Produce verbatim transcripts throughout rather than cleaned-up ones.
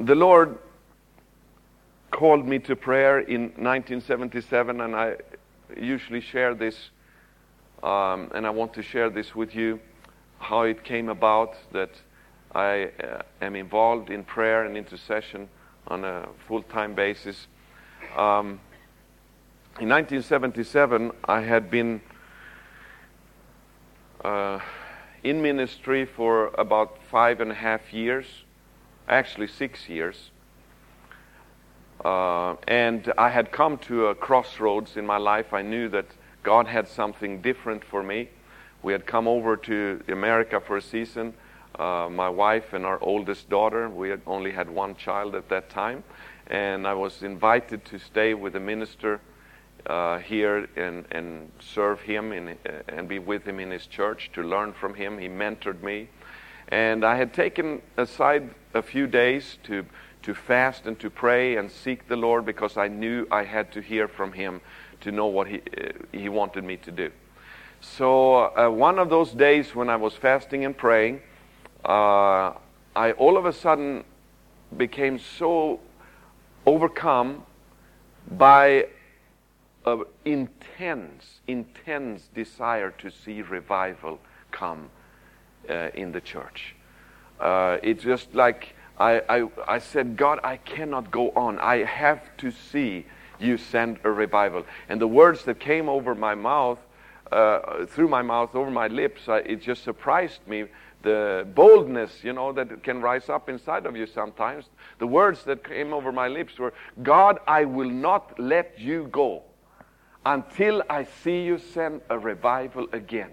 the Lord called me to prayer in nineteen seventy-seven, and I usually share this, um, and I want to share this with you, how it came about that I uh, am involved in prayer and intercession on a full-time basis. Um, in nineteen seventy-seven, I had been uh, in ministry for about five and a half years, actually six years. Uh, and I had come to a crossroads in my life. I knew that God had something different for me. We had come over to America for a season. Uh, my wife and our oldest daughter, we had only had one child at that time. And I was invited to stay with the minister uh, here and, and serve him in, uh, and be with him in his church, to learn from him. He mentored me. And I had taken aside a few days to to fast and to pray and seek the Lord, because I knew I had to hear from him to know what he uh, he wanted me to do. So uh, one of those days when I was fasting and praying, uh, I all of a sudden became so overcome by an intense, intense desire to see revival come uh, in the church. Uh, it's just like I, I, I said, God, I cannot go on. I have to see you send a revival. And the words that came over my mouth, uh, through my mouth, over my lips, I, it just surprised me. The boldness, you know, that can rise up inside of you sometimes. The words that came over my lips were, God, I will not let you go until I see you send a revival again.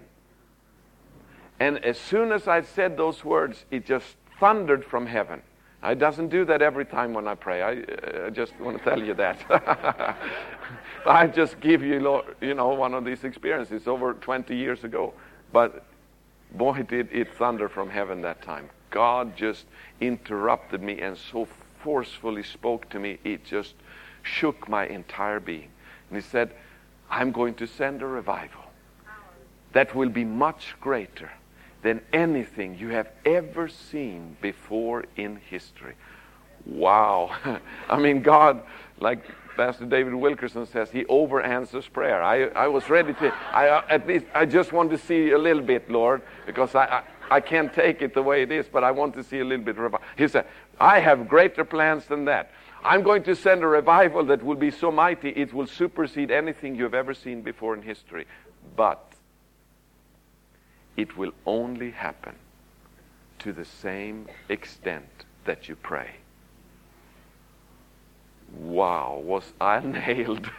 And as soon as I said those words, it just thundered from heaven. It doesn't do that every time when I pray. I, uh, I just want to tell you that. I just give you, you know, one of these experiences over twenty years ago. But boy, did it thunder from heaven that time. God just interrupted me and so forcefully spoke to me, it just shook my entire being. And he said, I'm going to send a revival that will be much greater than anything you have ever seen before in history. Wow. I mean, God, like Pastor David Wilkerson says, he over answers prayer. I, I was ready to, I uh, at least, I just want to see a little bit, Lord, because I, I, I can't take it the way it is, but I want to see a little bit of revival. He said, I have greater plans than that. I'm going to send a revival that will be so mighty, it will supersede anything you've ever seen before in history. But it will only happen to the same extent that you pray. Wow, was I nailed.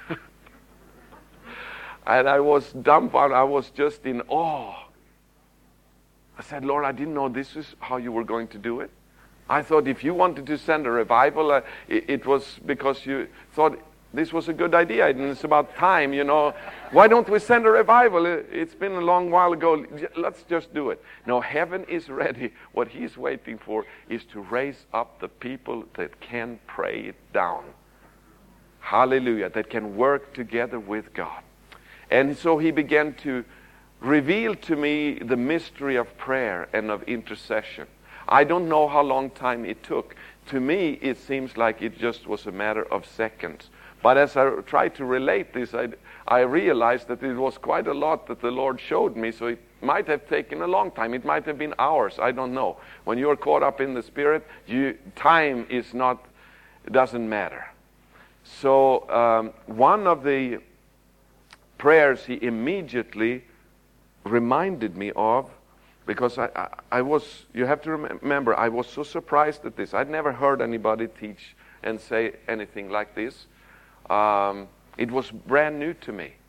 And I was dumbfounded. I was just in awe. I said, Lord, I didn't know this is how you were going to do it. I thought if you wanted to send a revival, uh, it, it was because you thought this was a good idea, and it's about time, you know. Why don't we send a revival? It's been a long while ago. Let's just do it. No, heaven is ready. What he's waiting for is to raise up the people that can pray it down. Hallelujah. That can work together with God. And so he began to reveal to me the mystery of prayer and of intercession. I don't know how long time it took. To me, it seems like it just was a matter of seconds. But as I tried to relate this, I, I realized that it was quite a lot that the Lord showed me, so it might have taken a long time. It might have been hours. I don't know. When you're caught up in the Spirit, you, time is not, doesn't matter. So um, one of the prayers he immediately reminded me of, because I, I, I was, you have to remember, I was so surprised at this. I'd never heard anybody teach and say anything like this. Um, it was brand new to me.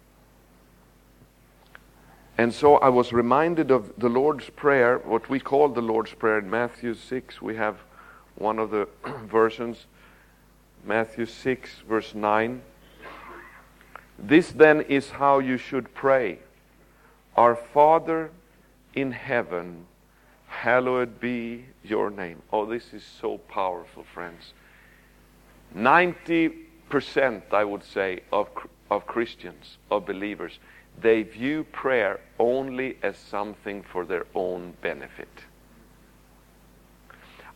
And so I was reminded of the Lord's Prayer, what we call the Lord's Prayer in Matthew six. We have one of the versions, Matthew six, verse nine. This then is how you should pray. Our Father in heaven, hallowed be your name. Oh, this is so powerful, friends. ninety percent, I would say, of of Christians, of believers, they view prayer only as something for their own benefit.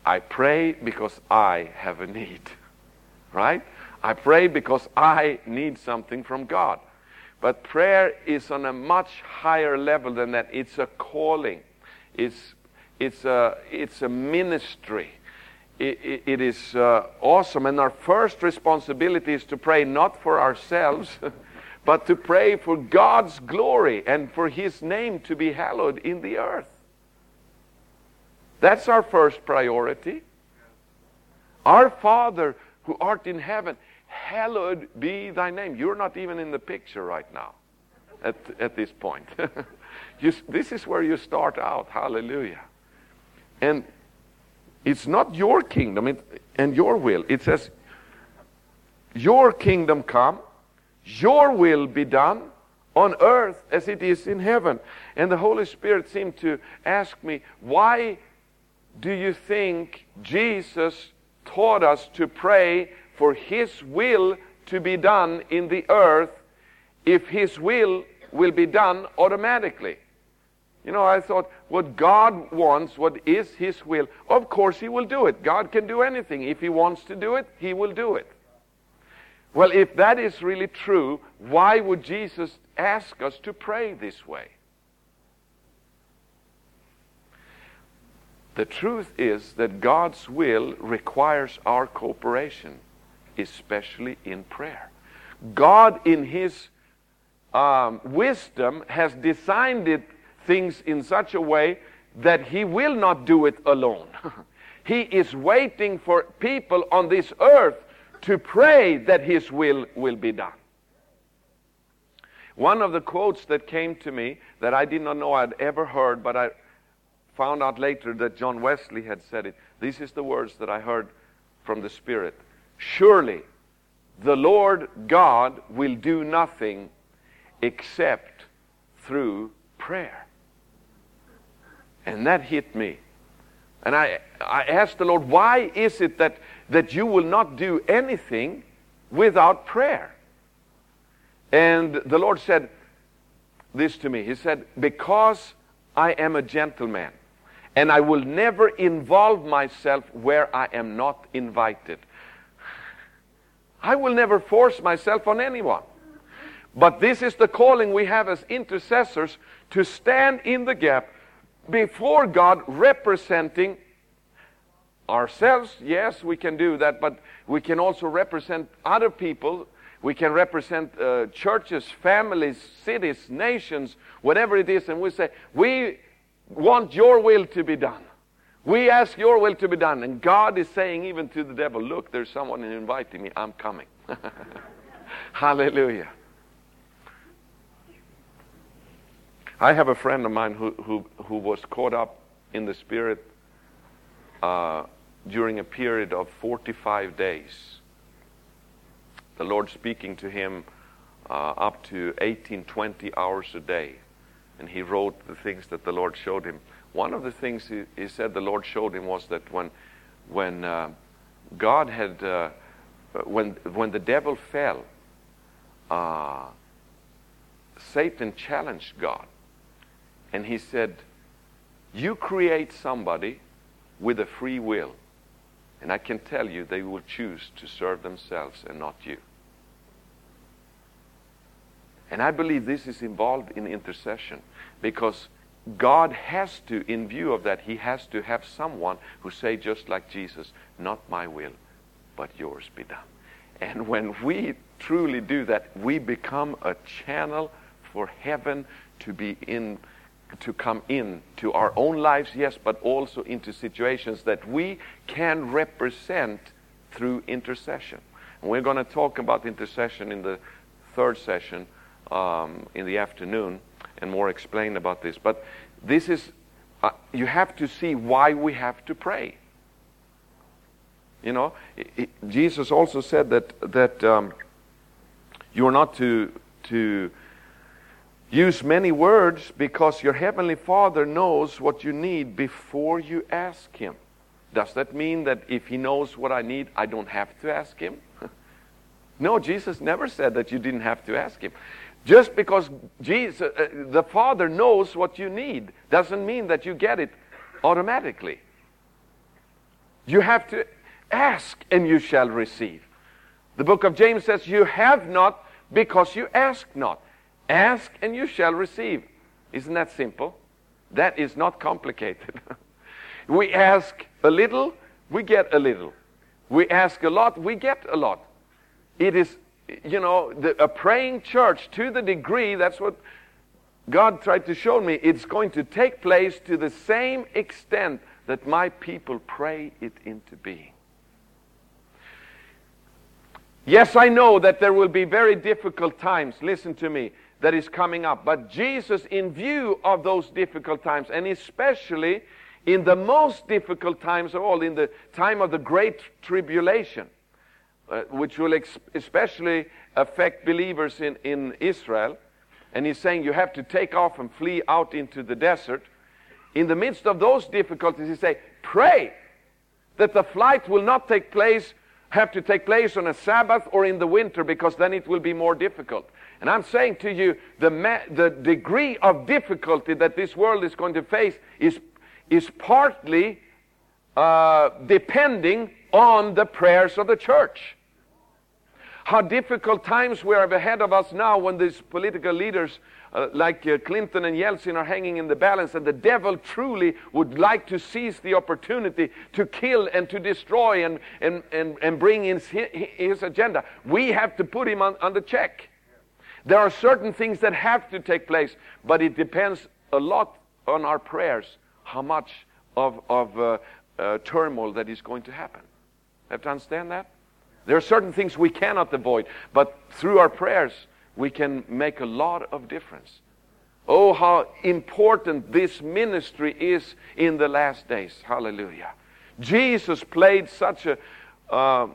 I pray because I have a need, right? I pray because I need something from God. But prayer is on a much higher level than that. It's a calling. It's, it's, a, it's a ministry. It, it, it is uh, awesome. And our first responsibility is to pray not for ourselves, but to pray for God's glory and for His name to be hallowed in the earth. That's our first priority. Our Father who art in heaven, hallowed be thy name. You're not even in the picture right now at, at this point. you, this is where you start out. Hallelujah. And it's not your kingdom it, and your will. It says, your kingdom come, your will be done on earth as it is in heaven. And the Holy Spirit seemed to ask me, why do you think Jesus taught us to pray for His will to be done in the earth if His will will be done automatically? You know, I thought, what God wants, what is His will, of course He will do it. God can do anything. If He wants to do it, He will do it. Well, if that is really true, why would Jesus ask us to pray this way? The truth is that God's will requires our cooperation, especially in prayer. God, in His um, wisdom, has designed it, things in such a way that He will not do it alone. He is waiting for people on this earth to pray that His will will be done. One of the quotes that came to me that I did not know I'd ever heard, but I found out later that John Wesley had said it. This is the words that I heard from the Spirit. Surely the Lord God will do nothing except through prayer. And that hit me. And I, I asked the Lord, why is it that, that you will not do anything without prayer? And the Lord said this to me. He said, because I am a gentleman, and I will never involve myself where I am not invited. I will never force myself on anyone. But this is the calling we have as intercessors, to stand in the gap before God, representing ourselves. Yes, we can do that, but we can also represent other people. We can represent uh, churches, families, cities, nations, whatever it is, and we say, we want your will to be done. We ask your will to be done. And God is saying even to the devil, look, there's someone inviting me. I'm coming. Hallelujah. I have a friend of mine who, who, who was caught up in the Spirit uh, during a period of forty-five days. The Lord speaking to him uh, up to eighteen, twenty hours a day. And he wrote the things that the Lord showed him. One of the things he, he said the Lord showed him was that when when uh, God had, uh, when when the devil fell, uh, Satan challenged God. And he said, you create somebody with a free will. And I can tell you they will choose to serve themselves and not you. And I believe this is involved in intercession, because God has to, in view of that, He has to have someone who say just like Jesus, not my will, but yours be done. And when we truly do that, we become a channel for heaven to be in, to come in to our own lives, yes, but also into situations that we can represent through intercession. And we're going to talk about intercession in the third session um, in the afternoon, and more explain about this. But this is, uh, you have to see why we have to pray. You know, it, it, Jesus also said that that um, you are not to to use many words, because your heavenly Father knows what you need before you ask Him. Does that mean that if He knows what I need, I don't have to ask Him? No, Jesus never said that you didn't have to ask Him. Just because Jesus, uh, the Father knows what you need doesn't mean that you get it automatically. You have to ask and you shall receive. The book of James says, you have not because you ask not. Ask and you shall receive. Isn't that simple? That is not complicated. We ask a little, we get a little. We ask a lot, we get a lot. It is, you know, the, a praying church, to the degree, that's what God tried to show me, it's going to take place to the same extent that my people pray it into being. Yes, I know that there will be very difficult times, listen to me, that is coming up. But Jesus, in view of those difficult times, and especially in the most difficult times of all, in the time of the Great Tribulation, uh, which will ex- especially affect believers in, in Israel, and he's saying you have to take off and flee out into the desert. In the midst of those difficulties, he says, pray that the flight will not take place, have to take place on a Sabbath or in the winter, because then it will be more difficult. And I'm saying to you, the, ma- the degree of difficulty that this world is going to face is, is partly uh, depending on the prayers of the church. How difficult times we have ahead of us now when these political leaders uh, like uh, Clinton and Yeltsin are hanging in the balance, and the devil truly would like to seize the opportunity to kill and to destroy and, and, and, and bring in his, his agenda. We have to put him on, on the check. There are certain things that have to take place, but it depends a lot on our prayers, how much of, of uh, uh, turmoil that is going to happen. Have to understand that? There are certain things we cannot avoid, but through our prayers, we can make a lot of difference. Oh, how important this ministry is in the last days. Hallelujah. Jesus played such a uh,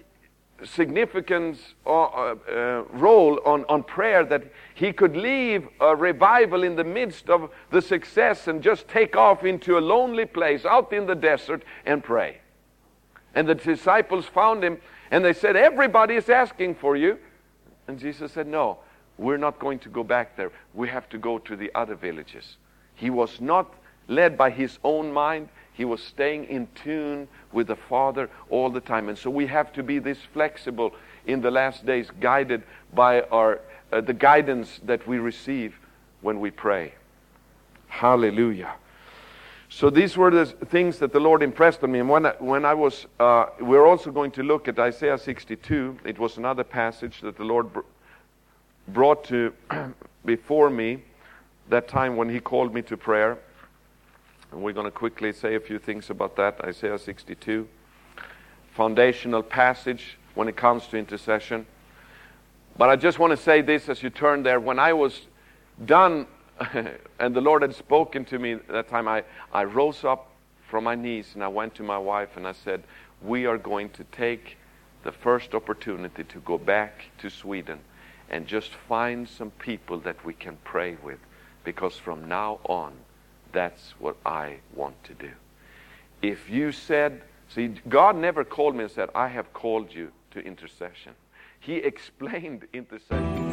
significant uh, uh, role on, on prayer that he could leave a revival in the midst of the success and just take off into a lonely place out in the desert and pray. And the disciples found him, and they said, everybody is asking for you. And Jesus said, no, we're not going to go back there. We have to go to the other villages. He was not led by his own mind. He was staying in tune with the Father all the time. And so we have to be this flexible in the last days, guided by our uh, the guidance that we receive when we pray. Hallelujah. So these were the things that the Lord impressed on me. And when I, when I was, uh, we're also going to look at Isaiah sixty-two. It was another passage that the Lord br- brought to before me that time when he called me to prayer. And we're going to quickly say a few things about that. Isaiah sixty-two. Foundational passage when it comes to intercession. But I just want to say this as you turn there. When I was done and the Lord had spoken to me that time, I, I rose up from my knees and I went to my wife and I said, we are going to take the first opportunity to go back to Sweden and just find some people that we can pray with, because from now on, that's what I want to do. If you said, see, God never called me and said, I have called you to intercession. He explained intercession.